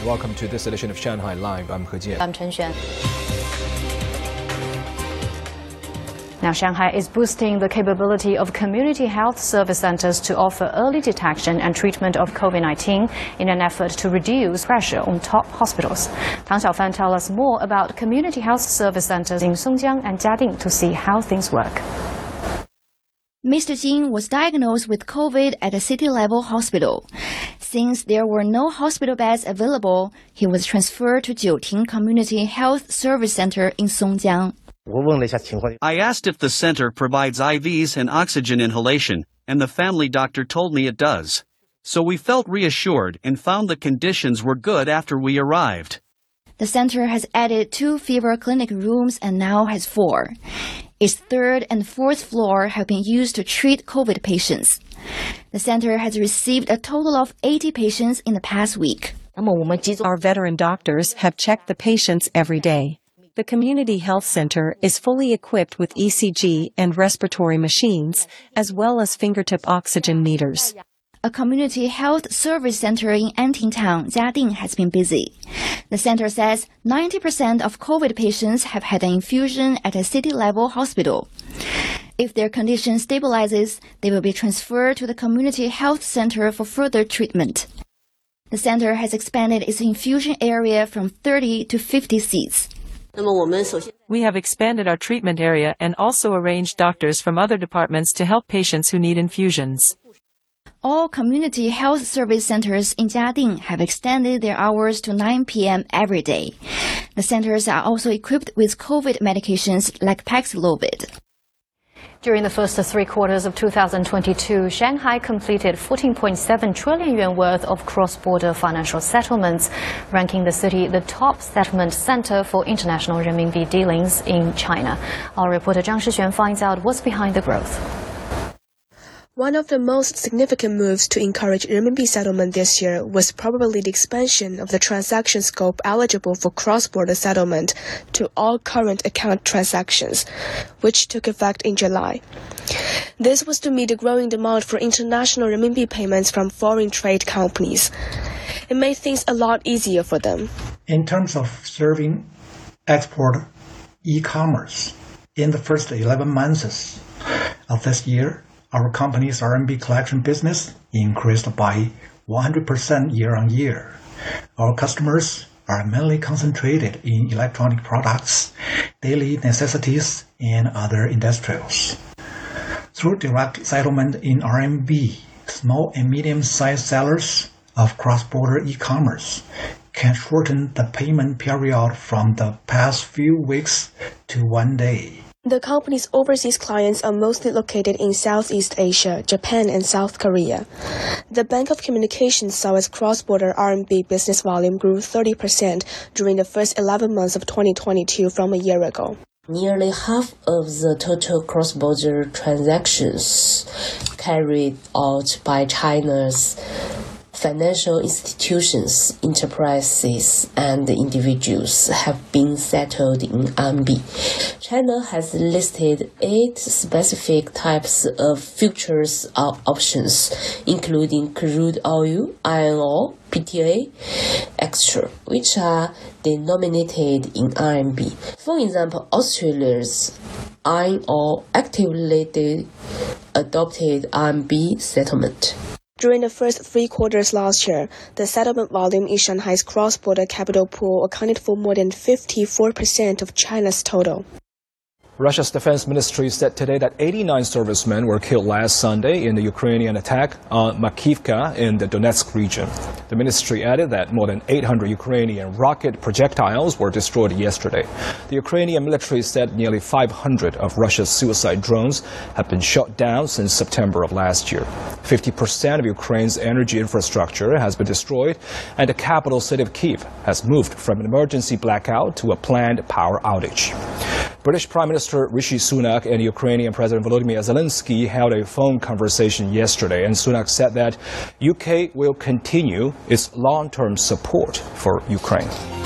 Welcome to this edition of Shanghai Live. I'm He Jian. I'm Chen Xuan. Now, Shanghai is boosting the capability of community health service centers to offer early detection and treatment of COVID-19 in an effort to reduce pressure on top hospitals. Tang Xiaofan tells us more about community health service centers in Songjiang and Jiading to see how things work. Mr. Jin was diagnosed with COVID at a city-level hospital. Since there were no hospital beds available, he was transferred to Jiuting Community Health Service Center in Songjiang. I asked if the center provides IVs and oxygen inhalation, and the family doctor told me it does. So we felt reassured and found the conditions were good after we arrived. The center has added 2 fever clinic rooms and now has 4. Its 3rd and 4th floor have been used to treat COVID patients. The center has received a total of 80 patients in the past week. Our veteran doctors have checked the patients every day. The community health center is fully equipped with ECG and respiratory machines, as well as fingertip oxygen meters. A community health service center in Anting Town, Jiading, has been busy. The center says 90% of COVID patients have had an infusion at a city-level hospital. If their condition stabilizes, they will be transferred to the community health center for further treatment. The center has expanded its infusion area from 30 to 50 seats. We have expanded our treatment area and also arranged doctors from other departments to help patients who need infusions. All community health service centers in Jiading have extended their hours to 9 p.m. every day. The centers are also equipped with COVID medications like Paxlovid. During the first 3 quarters of 2022, Shanghai completed 14.7 trillion yuan worth of cross-border financial settlements, ranking the city the top settlement center for international renminbi dealings in China. Our reporter Zhang Shixuan finds out what's behind the growth. One of the most significant moves to encourage renminbi settlement this year was probably the expansion of the transaction scope eligible for cross-border settlement to all current account transactions, which took effect in July. This was to meet the growing demand for international renminbi payments from foreign trade companies. It made things a lot easier for them. In terms of serving export e-commerce, in the first 11 months of this year, our company's RMB collection business increased by 100% year-on-year. Our customers are mainly concentrated in electronic products, daily necessities, and other industrials. Through direct settlement in RMB, small and medium-sized sellers of cross-border e-commerce can shorten the payment period from the past few weeks to 1 day. The company's overseas clients are mostly located in Southeast Asia, Japan, and South Korea. The Bank of Communications saw its cross-border RMB business volume grew 30% during the first 11 months of 2022 from a year ago. Nearly half of the total cross-border transactions carried out by China's financial institutions, enterprises, and individuals have been settled in RMB. China has listed 8 specific types of futures options, including crude oil, iron ore, PTA, etc., which are denominated in RMB. For example, Australia's iron ore actively adopted RMB settlement. During the first 3 quarters last year, the settlement volume in Shanghai's cross-border capital pool accounted for more than 54% of China's total. Russia's defense ministry said today that 89 servicemen were killed last Sunday in the Ukrainian attack on Makivka in the Donetsk region. The ministry added that more than 800 Ukrainian rocket projectiles were destroyed yesterday. The Ukrainian military said nearly 500 of Russia's suicide drones have been shot down since September of last year. 50% of Ukraine's energy infrastructure has been destroyed, and the capital city of Kyiv has moved from an emergency blackout to a planned power outage. British Prime Minister Rishi Sunak and Ukrainian President Volodymyr Zelensky held a phone conversation yesterday, and Sunak said that UK will continue its long-term support for Ukraine.